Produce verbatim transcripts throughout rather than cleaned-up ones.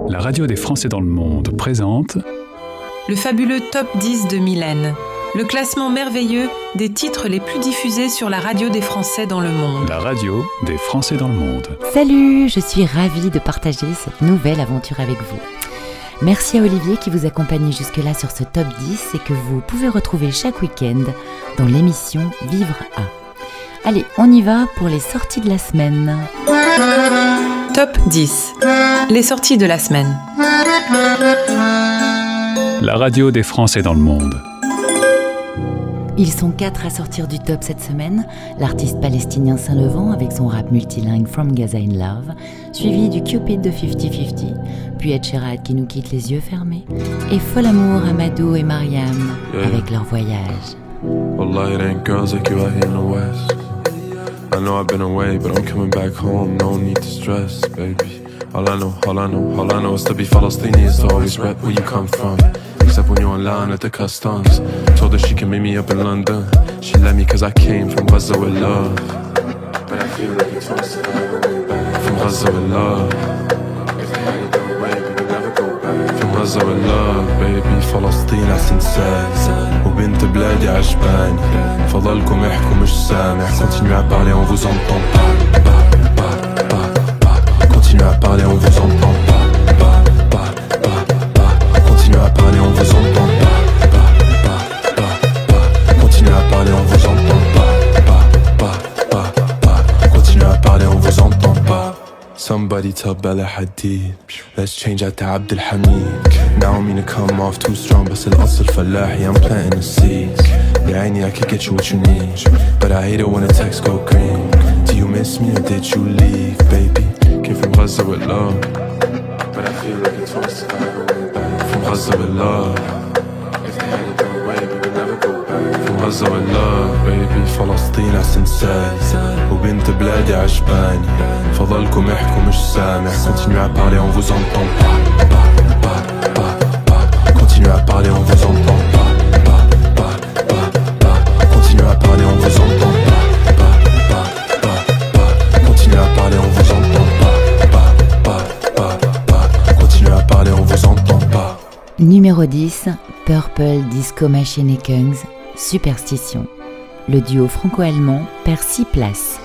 La radio des Français dans le monde présente le fabuleux Top dix de Mylène, le classement merveilleux des titres les plus diffusés sur la radio des Français dans le monde. La radio des Français dans le monde. Salut, je suis ravie de partager cette nouvelle aventure avec vous. Merci à Olivier qui vous accompagne jusque-là sur ce Top dix et que vous pouvez retrouver chaque week-end dans l'émission Vivre à. Allez, on y va pour les sorties de la semaine. Top dix. Les sorties de la semaine. La radio des Français dans le monde. Ils sont quatre à sortir du top cette semaine. L'artiste palestinien Saint-Levant avec son rap multilingue From Gaza in Love, suivi du Cupid de cinquante cinquante, puis Ed Sheeran qui nous quitte les yeux fermés, et Fol Amour, Amadou et Mariam yeah. avec leur voyage. Wallah, it ain't girls like you out here in the West. I know I've been away, but I'm coming back home. No need to stress, baby. All I know, all I know, all I know is to be Palestinian is to always rep where you come from. Except when you're in line at the customs. Told her she can meet me up in London. She let me cause I came from Gaza with love. But I feel like it's once from Gaza with love. If they had it their way, we would never go back. From Gaza with love, baby. فلسطين أحسن ساعة وبنت بلادي عجباني. فضلكم احكوا مش سامع. Continuez à parler, on vous entend pas. Pas, pas, pas, pas. Continuez à parler, on vous entend pas. Pas, pas, pas, pas. Continuez à parler, on vous entend pas. Pas, pas, pas, pas. Continuez à parler, on vous entend pas. Pas, pas, pas, pas. Continuez à parler, on vous entend pas. Somebody tell Bella Hadid, let's change out to Abdul Hamid. Now I mean to come off too strong, but still أصل فلاحي, I'm planting the seeds. Yeah, I need, I could get you what you need, but I hate it when the text go green. Do you miss me or did you leave, baby? Came from Gaza with love, but I feel like it's once I go back. From Gaza with love, if they had it their way, we would never go back. From Gaza with love, baby. فلسطين أحسن ساعة وبنت بلادي عجباني. فضلكم احكوا مش سامع. Continuez à parler, on vous entend pas. Pas, pas, pas, pas. Continuez à parler, on vous entend pas. Pas, pas, pas, pas. Continuez à parler, on vous entend pas. Pas, pas, pas, pas. Continuez à parler, on vous entend pas. Pas, pas, pas, pas. Continuez à parler, on vous entend pas. Numéro dix, Purple Disco Machine et Kungs, Superstition. Le duo franco-allemand perd six places.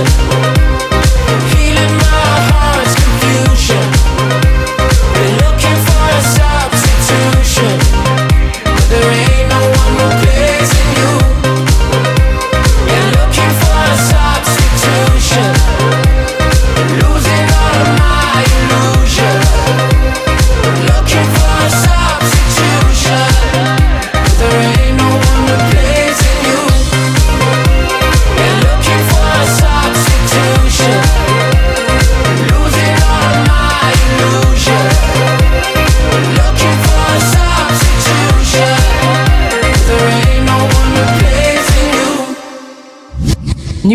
Healing my heart's confusion. We're looking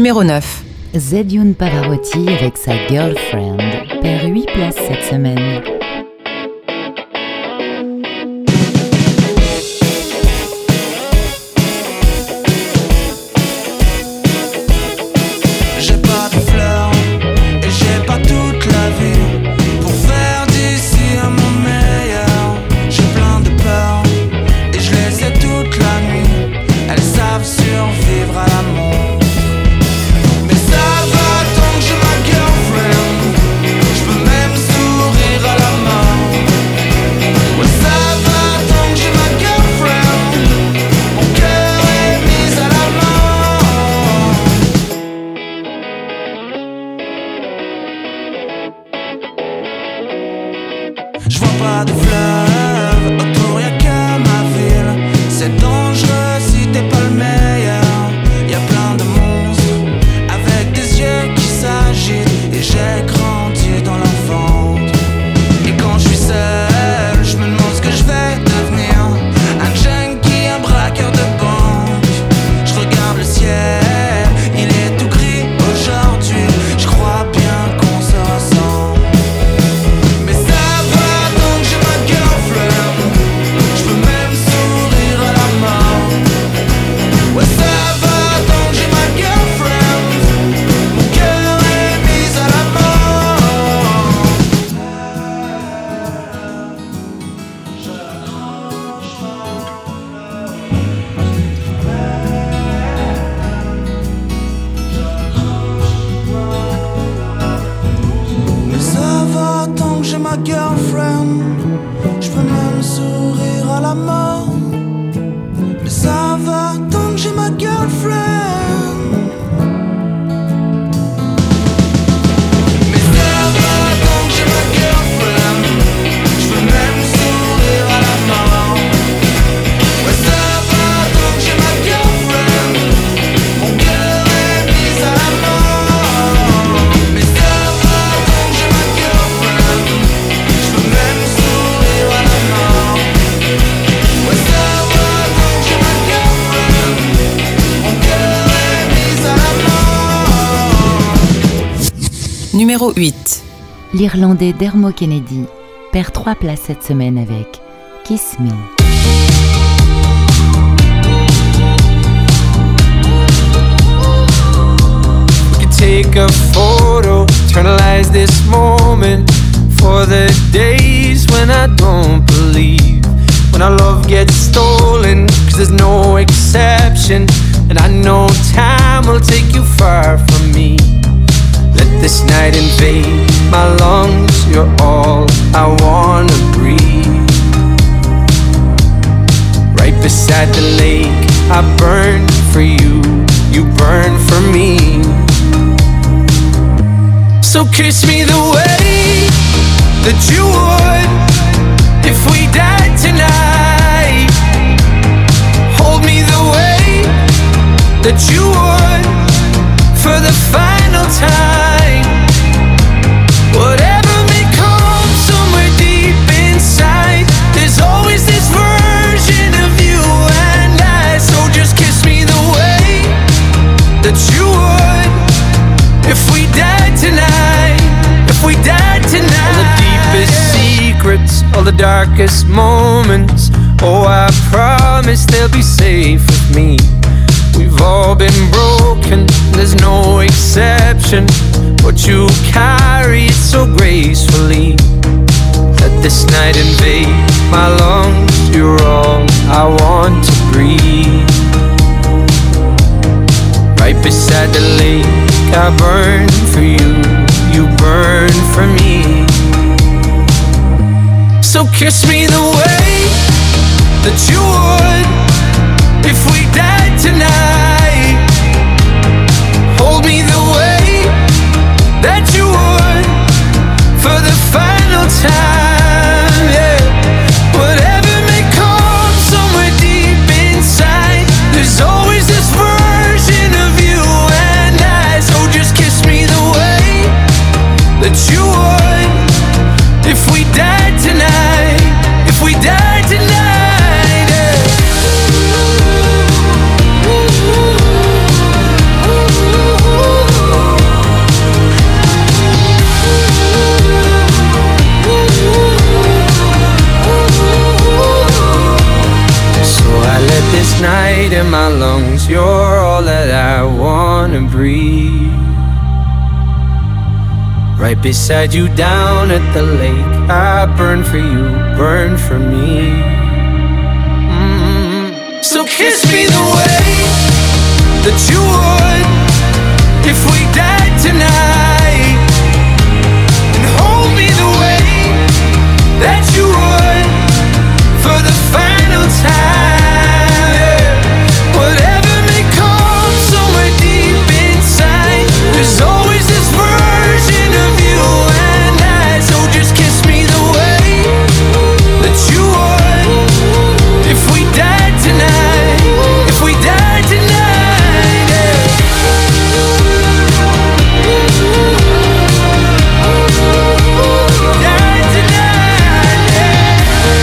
Numéro neuf. Zedjoun Pavarotti avec sa Girlfriend perd huit places cette semaine. Numéro huit. L'Irlandais Dermot Kennedy perd trois places cette semaine avec Kiss Me. We could take a photo, eternalize this moment for the days when I don't believe, when our love gets stolen, cause there's no exception, and I know time will take you far from me. Let this night invade my lungs, you're all I wanna breathe. Right beside the lake, I burn for you, you burn for me. So kiss me the way that you would if we died tonight. Hold me the way that you would for the final time. Whatever may come somewhere deep inside, there's always this version of you and I. So just kiss me the way that you would if we died tonight, if we died tonight. All the deepest secrets, all the darkest moments, oh I promise they'll be safe with me. We've all been broken, there's no exception, but you carry it so gracefully. Let this night invade my lungs, you're all I want to breathe. Right beside the lake, I burn for you, you burn for me. So kiss me the way that you would if we died tonight. Hold me the way that you would for the final time, yeah. Whatever may come somewhere deep inside, there's always this version of you and I. So just kiss me the way that you would if we died tonight, if we died tonight, yeah. my lungs. You're all that I wanna breathe. Right beside you down at the lake, I burn for you, burn for me. Mm-hmm. So kiss me the way that you would if we died tonight, and hold me the way that you would for the final time. Yeah. Whatever may come somewhere deep inside, there's always this version of you and I. So just kiss me the way that you would if we died tonight, if we died tonight. Yeah. Died tonight, yeah.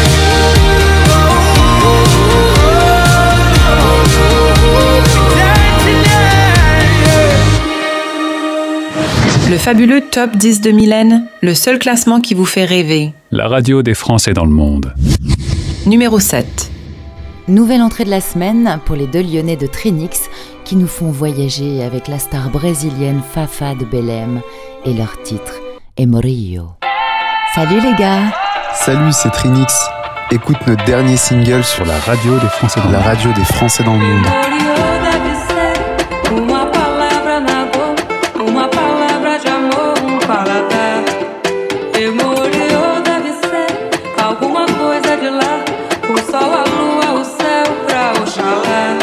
Died tonight, yeah. Le fabuleux Top dix de Mylène, le seul classement qui vous fait rêver. La radio des Français dans le monde. Numéro sept. Nouvelle entrée de la semaine pour les deux Lyonnais de Trinix qui nous font voyager avec la star brésilienne Fafa de Belém et leur titre Emorio. Salut les gars! Salut, c'est Trinix. Écoute notre dernier single sur la radio des Français dans, la radio des Français dans le monde. Uma palavra na boca, uma palavra de amor, um paladar. Emorio deve ser alguma coisa de lá, o sol, a lua, o céu pra Oxalá.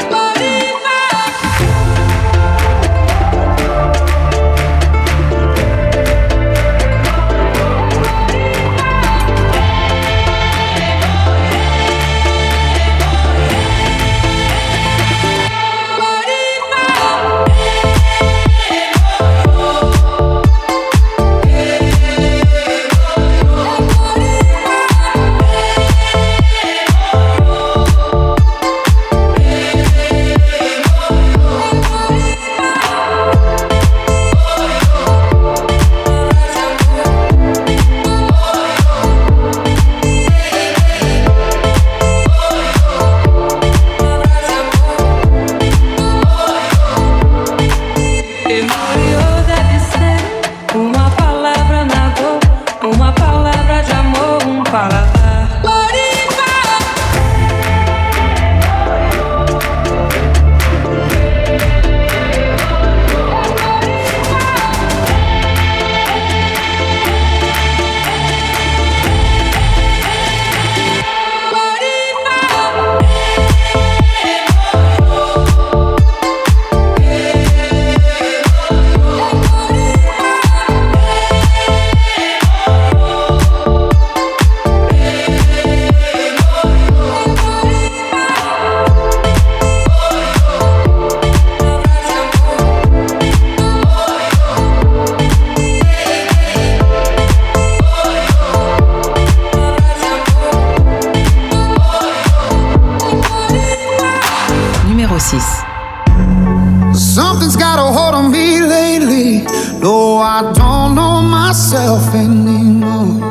Something's got a hold on me lately. No, I don't know myself anymore.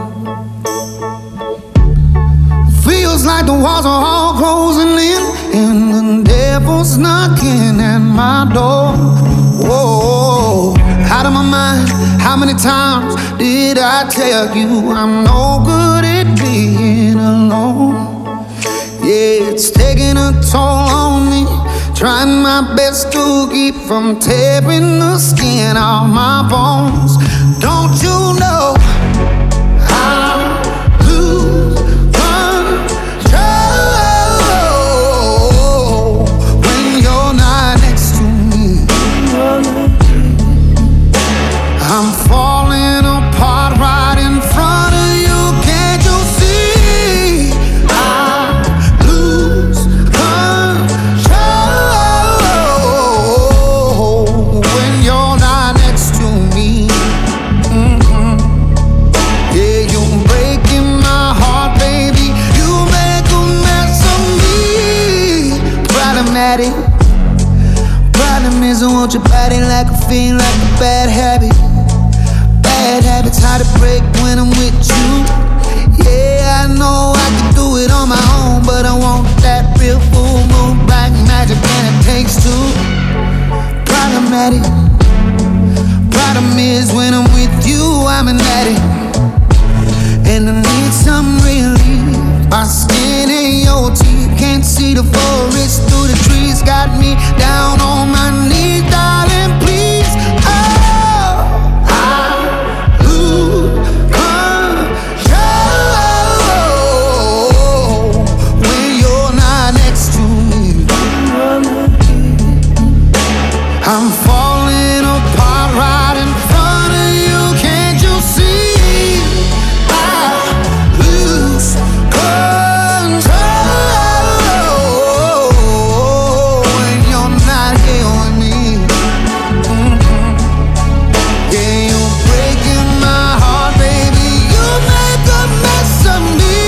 Feels like the walls are all closing in, and the devil's knocking at my door. Whoa, out of my mind. How many times did I tell you I'm no good at being alone? Yeah, it's taking a toll on me. Trying my best to keep from tearing the skin off my bones. Don't you know I lose control when you're not next to me? I'm falling apart right in front of you. Can't you see? I lose control when you're not next to me. Mm-hmm. Yeah, you're breaking my heart, baby. You make a mess of me. Problematic. Problem is I want your body like a fiend, like a bad habit. Bad habits hard to break when I'm with you. Yeah, I know I can do it on my own, but I want that real full moon, black magic, and it see the forest through the trees. Got me down on my knees, darling, please. Oh, I lose control when you're not next to me. I'm falling apart right in front of you. Can't you see? I lose control when you're not here with me. Mm-hmm. Yeah, you're breaking my heart, baby. You make a mess of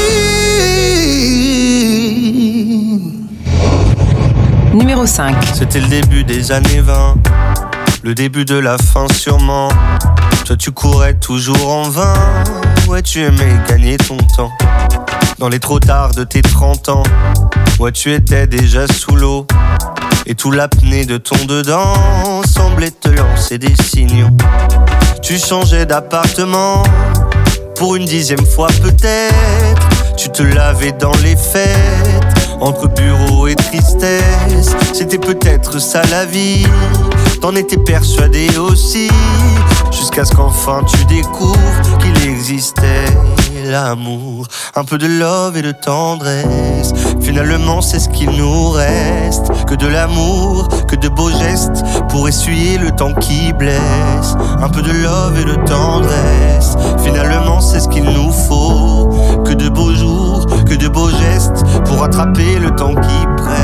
me. Numéro cinq. C'était le début des années vingt, le début de la fin sûrement. Toi tu courais toujours en vain, ouais tu aimais gagner ton temps. Dans les trop tard de tes trente ans, ouais tu étais déjà sous l'eau. Et tout l'apnée de ton dedans semblait te lancer des signaux. Tu changeais d'appartement, pour une dixième fois peut-être. Tu te lavais dans les fêtes, entre bureau et tristesse. C'était peut-être ça la vie, t'en étais persuadé aussi. Jusqu'à ce qu'enfin tu découvres qu'il existait l'amour. Un peu de love et de tendresse, finalement c'est ce qu'il nous reste. Que de l'amour, que de beaux gestes pour essuyer le temps qui blesse. Un peu de love et de tendresse, finalement c'est ce qu'il nous faut. Que de beaux jours, que de beaux gestes pour rattraper le temps qui presse.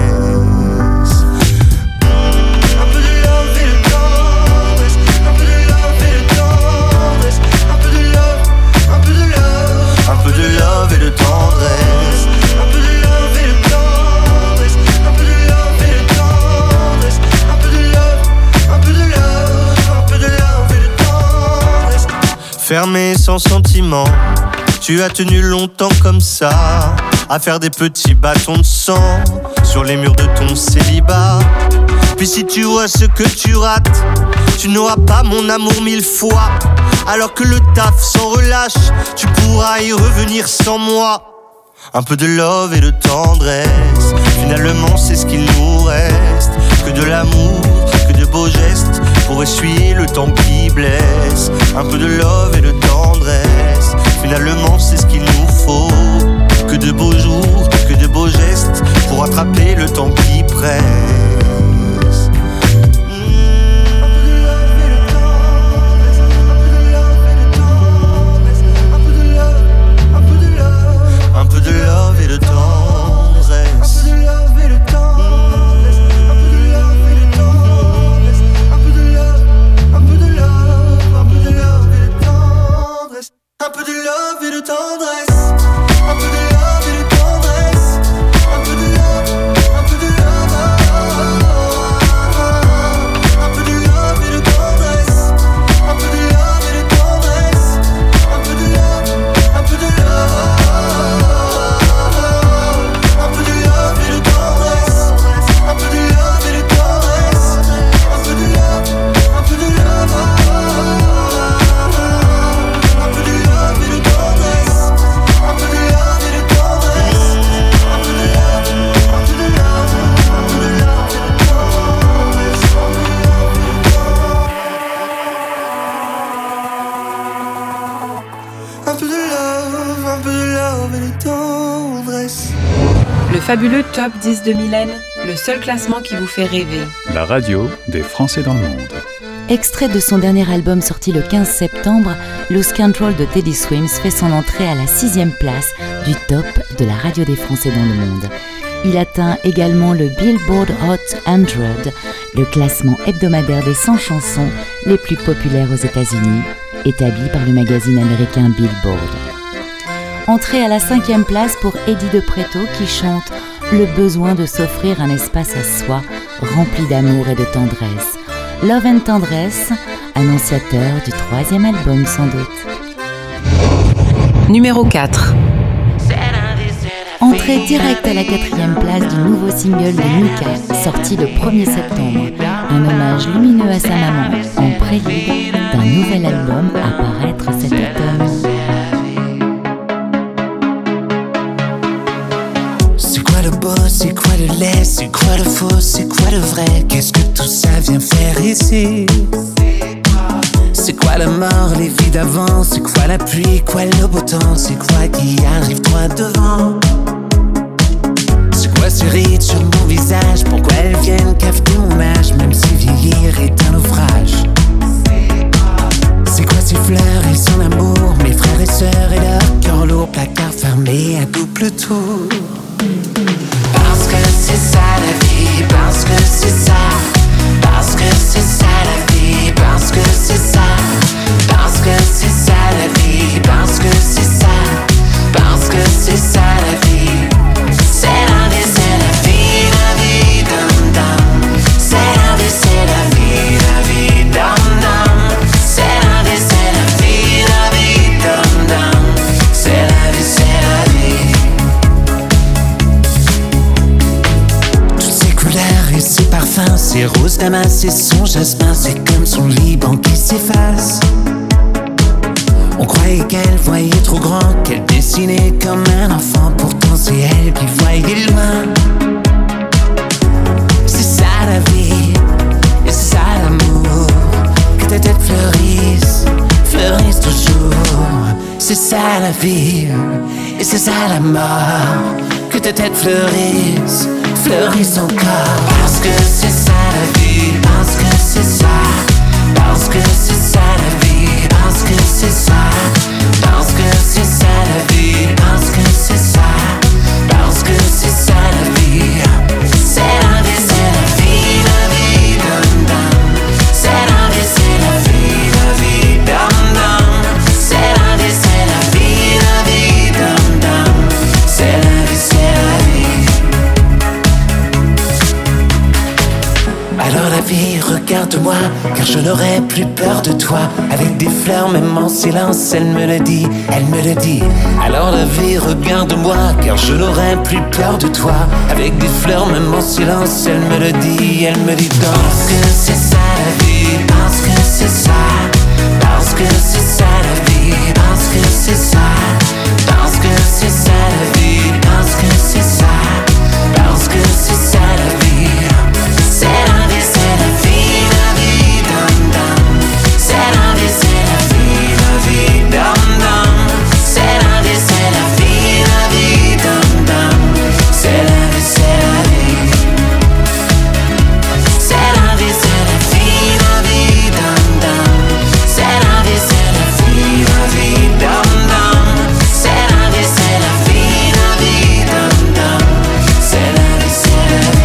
Un peu de love et de tendresse, un peu de love et de tendresse, un peu de love, un peu de love, un peu de love et de tendresse, un peu de love et de tendresse, un peu de love et de tendresse, un peu de love, un peu de love, un peu de love et de tendresse. Fermé sans sentiment, tu as tenu longtemps comme ça, à faire des petits bâtons de sang sur les murs de ton célibat. Puis si tu vois ce que tu rates, tu n'auras pas mon amour mille fois. Alors que le taf s'en relâche, tu pourras y revenir sans moi. Un peu de love et de tendresse, finalement c'est ce qu'il nous reste. Que de l'amour, que de beaux gestes pour essuyer le temps qui blesse. Un peu de love et de tendresse, finalement c'est ce qu'il nous faut. Que de beaux jours, que de beaux gestes pour attraper le temps qui presse. Un peu de love et de tendresse, un peu de love et de tendresse, un peu de love et de tendresse, un peu de love, un peu de love, un peu de love et de tendresse, un peu de love et de tendresse, un peu de love et de tendresse, un peu de love, un peu de love, un peu de love et de tendresse, un peu de love et de tendresse, un peu de love, un peu de love. Le fabuleux Top dix de Mylène, le seul classement qui vous fait rêver. La radio des Français dans le monde. Extrait de son dernier album sorti le quinze septembre, Lose Control de Teddy Swims fait son entrée à la sixième place du top de la radio des Français dans le monde. Il atteint également le Billboard Hot cent, le classement hebdomadaire des cent chansons les plus populaires aux États-Unis, établi par le magazine américain Billboard. Entrée à la cinquième place pour Eddie De Pretto qui chante le besoin de s'offrir un espace à soi rempli d'amour et de tendresse. Love and Tendresse, annonciateur du troisième album sans doute. Numéro quatre. Entrée directe à la quatrième place du nouveau single de Mika, sorti le premier septembre. Un hommage lumineux à sa maman, en prélude d'un nouvel album à paraître cet automne. C'est quoi le boss, c'est quoi le faux, c'est quoi le vrai? Qu'est-ce que tout ça vient faire ici? C'est quoi la mort, les vies d'avant? C'est quoi la pluie, quoi le beau temps? C'est quoi qui arrive droit devant? C'est quoi ces rides sur mon visage? Pourquoi elles viennent cafeter mon âge? Même si vieillir est un naufrage. C'est quoi ces fleurs et son amour? Mes frères et sœurs et leur cœur lourd, placard fermé à double tour. Parce que c'est ça la vie, parce que c'est ça. Parce que c'est ça la vie, parce que c'est ça. Parce que c'est ça la vie, parce que c'est ça. Parce que c'est ça la vie. C'est la vie, c'est la vie, la vie, dum dum. C'est la vie, c'est la vie, la vie, dum dum. C'est la vie, c'est la vie, la vie, dum dum. C'est la vie, c'est la vie. Toutes ces couleurs et ces parfums, ces roses damas et son jasmin, c'est comme son Liban qui s'efface. On croyait qu'elle voyait trop grand, qu'elle dessinait comme un enfant. Pourtant c'est elle qui voyait loin. C'est ça la vie, et c'est ça l'amour. Que ta tête fleurisse, fleurisse toujours. C'est ça la vie, et c'est ça la mort. Que ta tête fleurisse, fleurisse encore. Parce que c'est ça la vie, parce que c'est ça. Parce que c'est ça la vie, parce que c'est ça. Parce que c'est ça la vie, parce que c'est ça. Parce que c'est ça la vie. C'est la vie, c'est la vie, la vie, dum dum. C'est la vie, c'est la vie, la vie, dum dum. C'est la vie, c'est la vie, la vie, dum dum. C'est la vie, c'est la vie. Alors la vie, regarde-moi, car je n'aurai plus peur de toi. Avec des fleurs, même en silence, elle me le dit, elle me le dit. Alors la vie, regarde-moi, car je n'aurai plus peur de toi. Avec des fleurs, même en silence, elle me le dit, elle me dit. Parce que c'est ça la vie, parce que c'est ça. Parce que c'est ça la vie, parce que c'est ça. Parce que c'est ça la vie, parce que c'est ça. Parce que c'est ça la vie. C'est la vie, c'est la vie, la vie, dum dum. C'est la vie, c'est la vie, la vie, dum dum. C'est la vie, c'est la vie, la vie, dum dum. C'est la vie, c'est la vie. C'est la vie, c'est la vie, la vie, dum dum. C'est la vie, c'est la vie, la vie, dum dum. C'est la vie, c'est la vie, la vie, dum dum. C'est la vie, c'est la vie.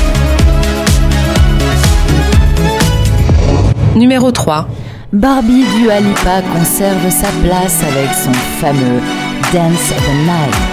Numéro trois. Barbie Dua Lipa conserve sa place avec son fameux Dance of the Night.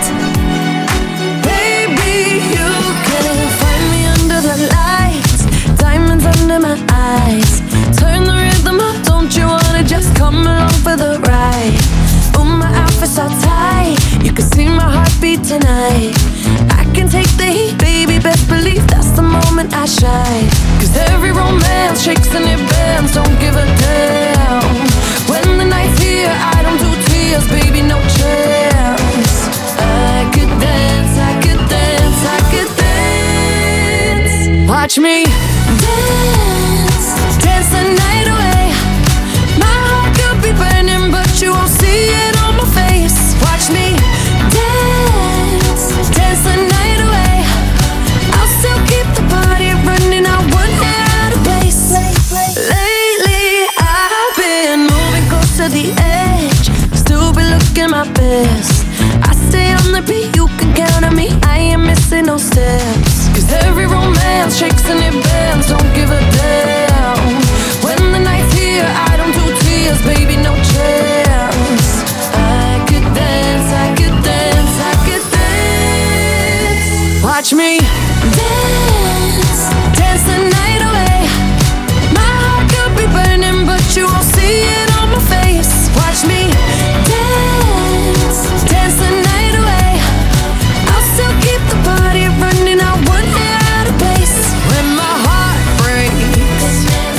Baby, you can find me under the lights, diamonds under my eyes. Turn the rhythm up, don't you wanna just come along for the ride? Oh, my outfit's all tight, you can see my heartbeat tonight. I can take the heat, baby, best believe that's the moment I shine. Cause every romance shakes and it bends, don't give a damn. When the night's here, I don't do tears, baby, no chance. I could dance, I could dance, I could dance. Watch me dance, dance the night away. My heart could be burning, but you won't see it on my face. Watch me dance, dance the night away. I'll still keep the party running, I wouldn't get out of place. Lately I've been moving close to the edge, still be looking my best. I stay on the beat, you can count on me, I ain't missing no steps. Cause every romance shakes and it bends, don't give a damn. When the night's here, I don't do tears, baby, no chance. I could dance, I could dance, I could dance. Watch me dance, dance the night away. My heart could be burning, but you won't see it on my face. Watch me dance, dance the night away. I'll still keep the party running, I wouldn't get out of place. When my heart breaks,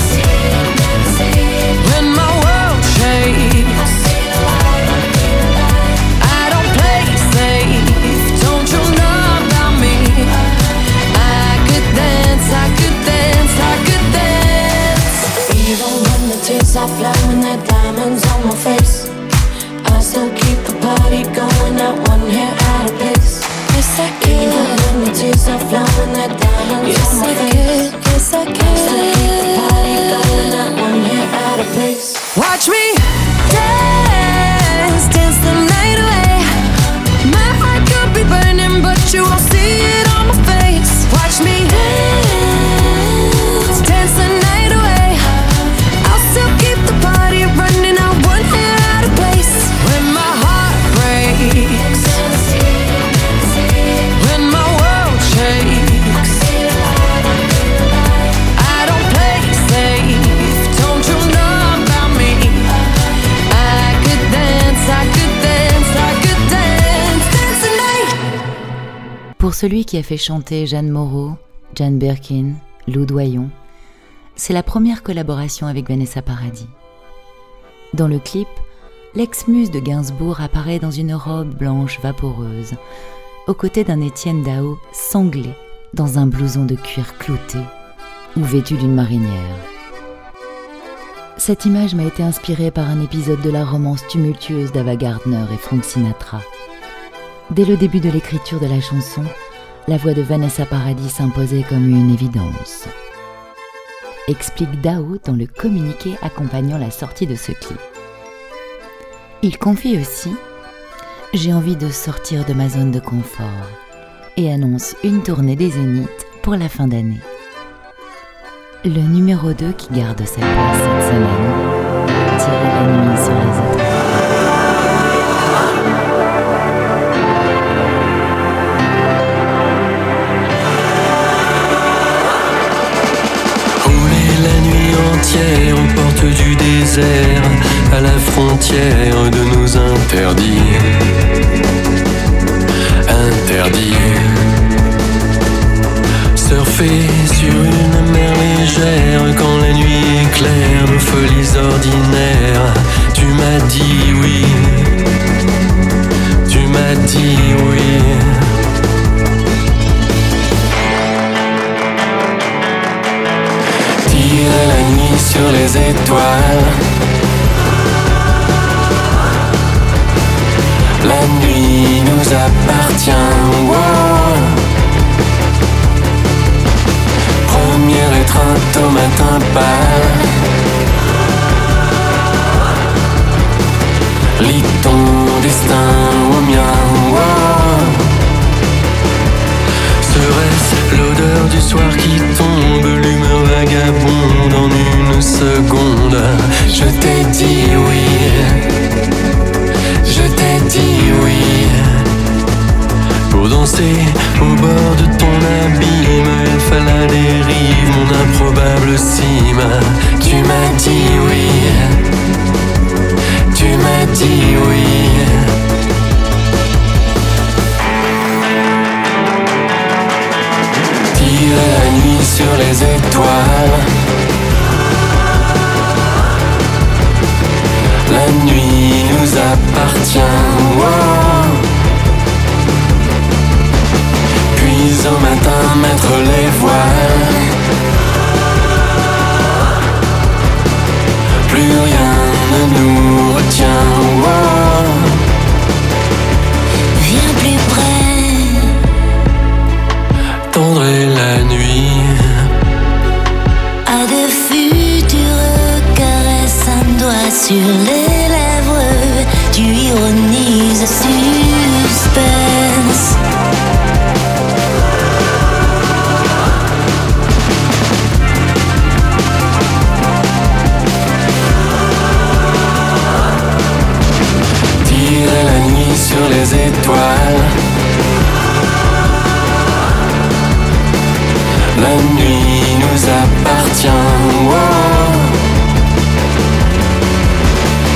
when my world shakes, I don't play safe, don't you know about me? the party going out, one hair out of place. Yes, I can. Even when the tears are flowing, that diamonds yes, on my I face. Can. Yes, I can. Still keep the party going out, one hair out of place. Watch me dance, dance the night away. My heart could be burning, but you won't see it on my face. Watch me dance, dance the night away. I'll still keep the party running out, one hair out of place. When my heart breaks, when my world shakes, I don't play safe, don't you know about me? I could dance, I could dance, I could dance, dance the night. Pour celui qui a fait chanter Jeanne Moreau, Jane Birkin, Lou Doyon, c'est la première collaboration avec Vanessa Paradis. Dans le clip, l'ex-muse de Gainsbourg apparaît dans une robe blanche vaporeuse, aux côtés d'un Étienne Dao sanglé dans un blouson de cuir clouté ou vêtu d'une marinière. Cette image m'a été inspirée par un épisode de la romance tumultueuse d'Ava Gardner et Frank Sinatra. Dès le début de l'écriture de la chanson, la voix de Vanessa Paradis s'imposait comme une évidence. Explique Dao dans le communiqué accompagnant la sortie de ce clip. Il confie aussi « J'ai envie de sortir de ma zone de confort » et annonce une tournée des Zéniths pour la fin d'année. Le numéro deux qui garde sa place cette semaine, Tirer la nuit sur les étoiles. Aux portes du désert, à la frontière de nos interdits. Interdits. Surfer sur une mer légère quand la nuit éclaire nos folies ordinaires. Tu m'as dit oui. Tu m'as dit oui. La nuit sur les étoiles. La nuit nous appartient. Wow. Première étreinte au matin pâle. Lis ton destin au mien. Wow. Serait-ce l'odeur du soir qui tombe, l'humeur vagabonde en une seconde? Je t'ai dit oui, je t'ai dit oui. Pour danser au bord de ton abîme, il fallait la dérive, mon improbable cime. Tu m'as dit oui, tu m'as dit oui. La nuit sur les étoiles. La nuit nous appartient. Wow. Puis au matin mettre les voiles. Plus rien ne nous retient. Wow. Viens plus près. Tendre la nuit. À de futures caresses, un doigt sur les lèvres. Tu ironises suspense. Tirer la nuit sur les étoiles. La nuit nous appartient. Wow.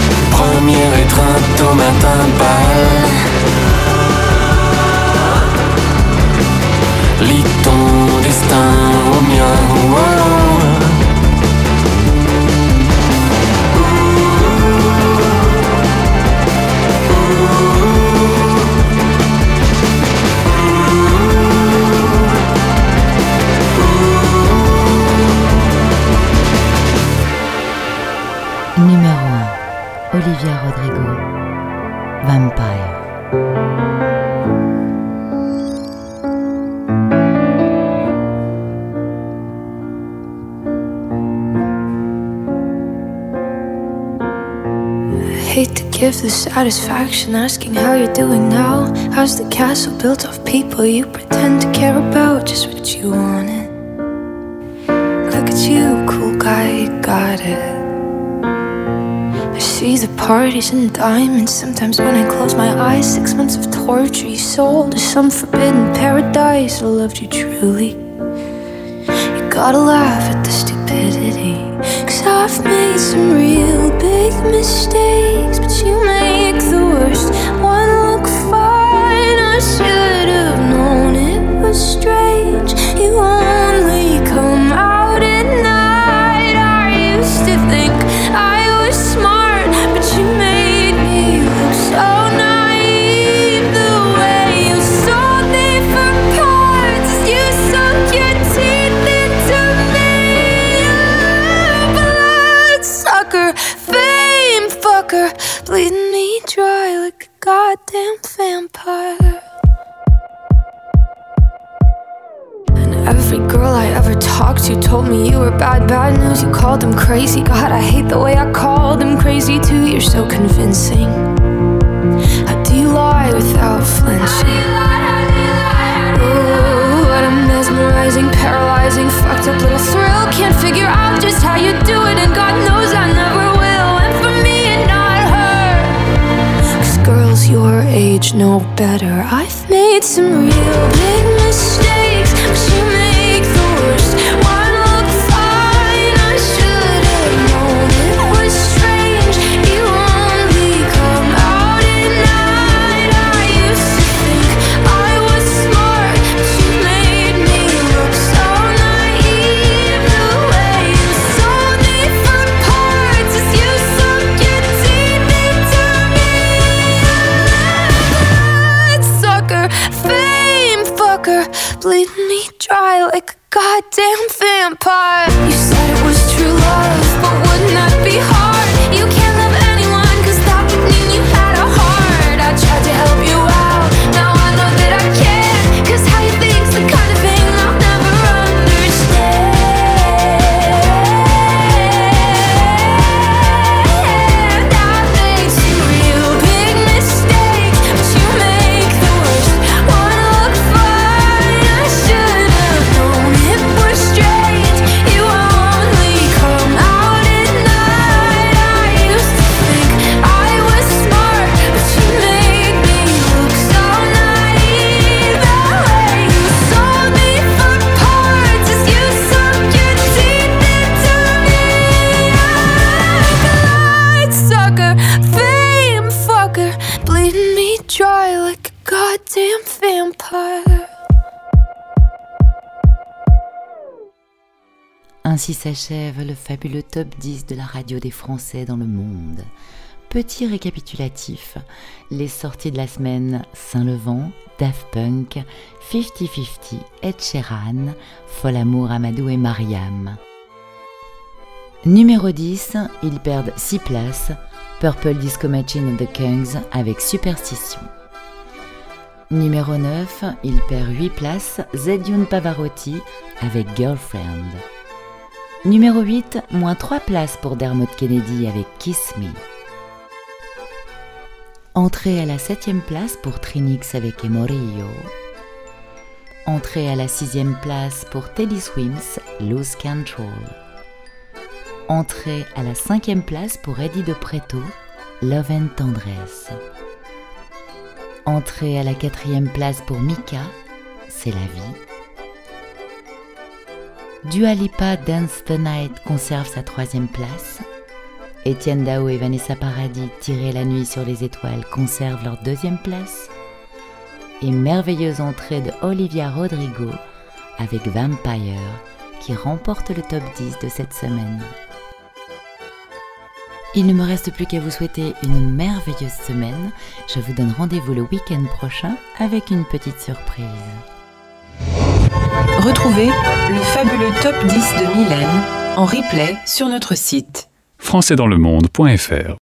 give the satisfaction asking how you're doing now. How's the castle built of people you pretend to care about? Just what you wanted. Look at you, cool guy, you got it. I see the parties and diamonds. Sometimes when I close my eyes, six months of torture you sold to some forbidden paradise. I loved you truly. You gotta laugh at the stupidity, 'cause I've made some real big mistakes, but you make the worst one look fine. I should have known it was strange. You only come out at night. I used to think I was smart, but you made me look so naive. The way you sold me for parts, you sunk your teeth into me. Bloodsucker, fame fucker, bleeding me dry like a goddamn vampire. And every girl I ever talked to told me you were bad, bad news. You called them crazy. God, I hate the way I called them crazy too. You're so convincing. How do you lie without flinching? Ooh, what a mesmerizing, paralyzing, fucked up little thrill. Can't figure out just how you do it, and God knows I never will. And for me and not her, 'cause girls your age know better. I've made some real big mistakes, but you make the worst one look fine. I should have known it was strange. You only come out at night. I used to think I was smart, but you made me look so naive. The way you sold me for parts as you sunk your teeth into me. Bloodsucker, fame fucker, bleeding me dry like a goddamn vampire. You said it was true love, but wouldn't that be hard? You can't love anyone, 'cause that would mean you had a heart. I tried to help you out, now I know that I can't, 'cause how you think's the kind of thing I'll never understand. I've made some real big mistakes, but you make the worst one look fine. I should have known it was strange. You only come out at night. I used to think I was smart, but you made me look so naive. The way you sold me for parts as you sunk your teeth into me. Bloodsucker, fame fucker, bleeding me dry like a goddamn vampire. Ainsi s'achève le fabuleux top dix de la radio des Français dans le monde. Petit récapitulatif, les sorties de la semaine: Saint-Levant, Daft Punk, cinquante cinquante, Ed Sheeran, Folamour, Amadou et Mariam. Numéro dix, ils perdent six places, Purple Disco Machine and the Kings avec Superstition. Numéro neuf, il perd huit places, Zedjoun Pavarotti avec Girlfriend. Numéro huit, moins trois places pour Dermot Kennedy avec Kiss Me. Entrée à la septième place pour Trinix avec Emorillo. Entrée à la sixième place pour Teddy Swims, Lose Control. Entrée à la cinquième place pour Eddie De Pretto, Love and Tendresse. Entrée à la quatrième place pour Mika, C'est la vie. Dua Lipa, Dance the Night conserve sa troisième place. Étienne Dao et Vanessa Paradis, Tirer la nuit sur les étoiles, conservent leur deuxième place. Et merveilleuse entrée de Olivia Rodrigo avec Vampire, qui remporte le top dix de cette semaine. Il ne me reste plus qu'à vous souhaiter une merveilleuse semaine. Je vous donne rendez-vous le week-end prochain avec une petite surprise. Retrouvez le fabuleux top dix de Mylène en replay sur notre site français dans le monde point f r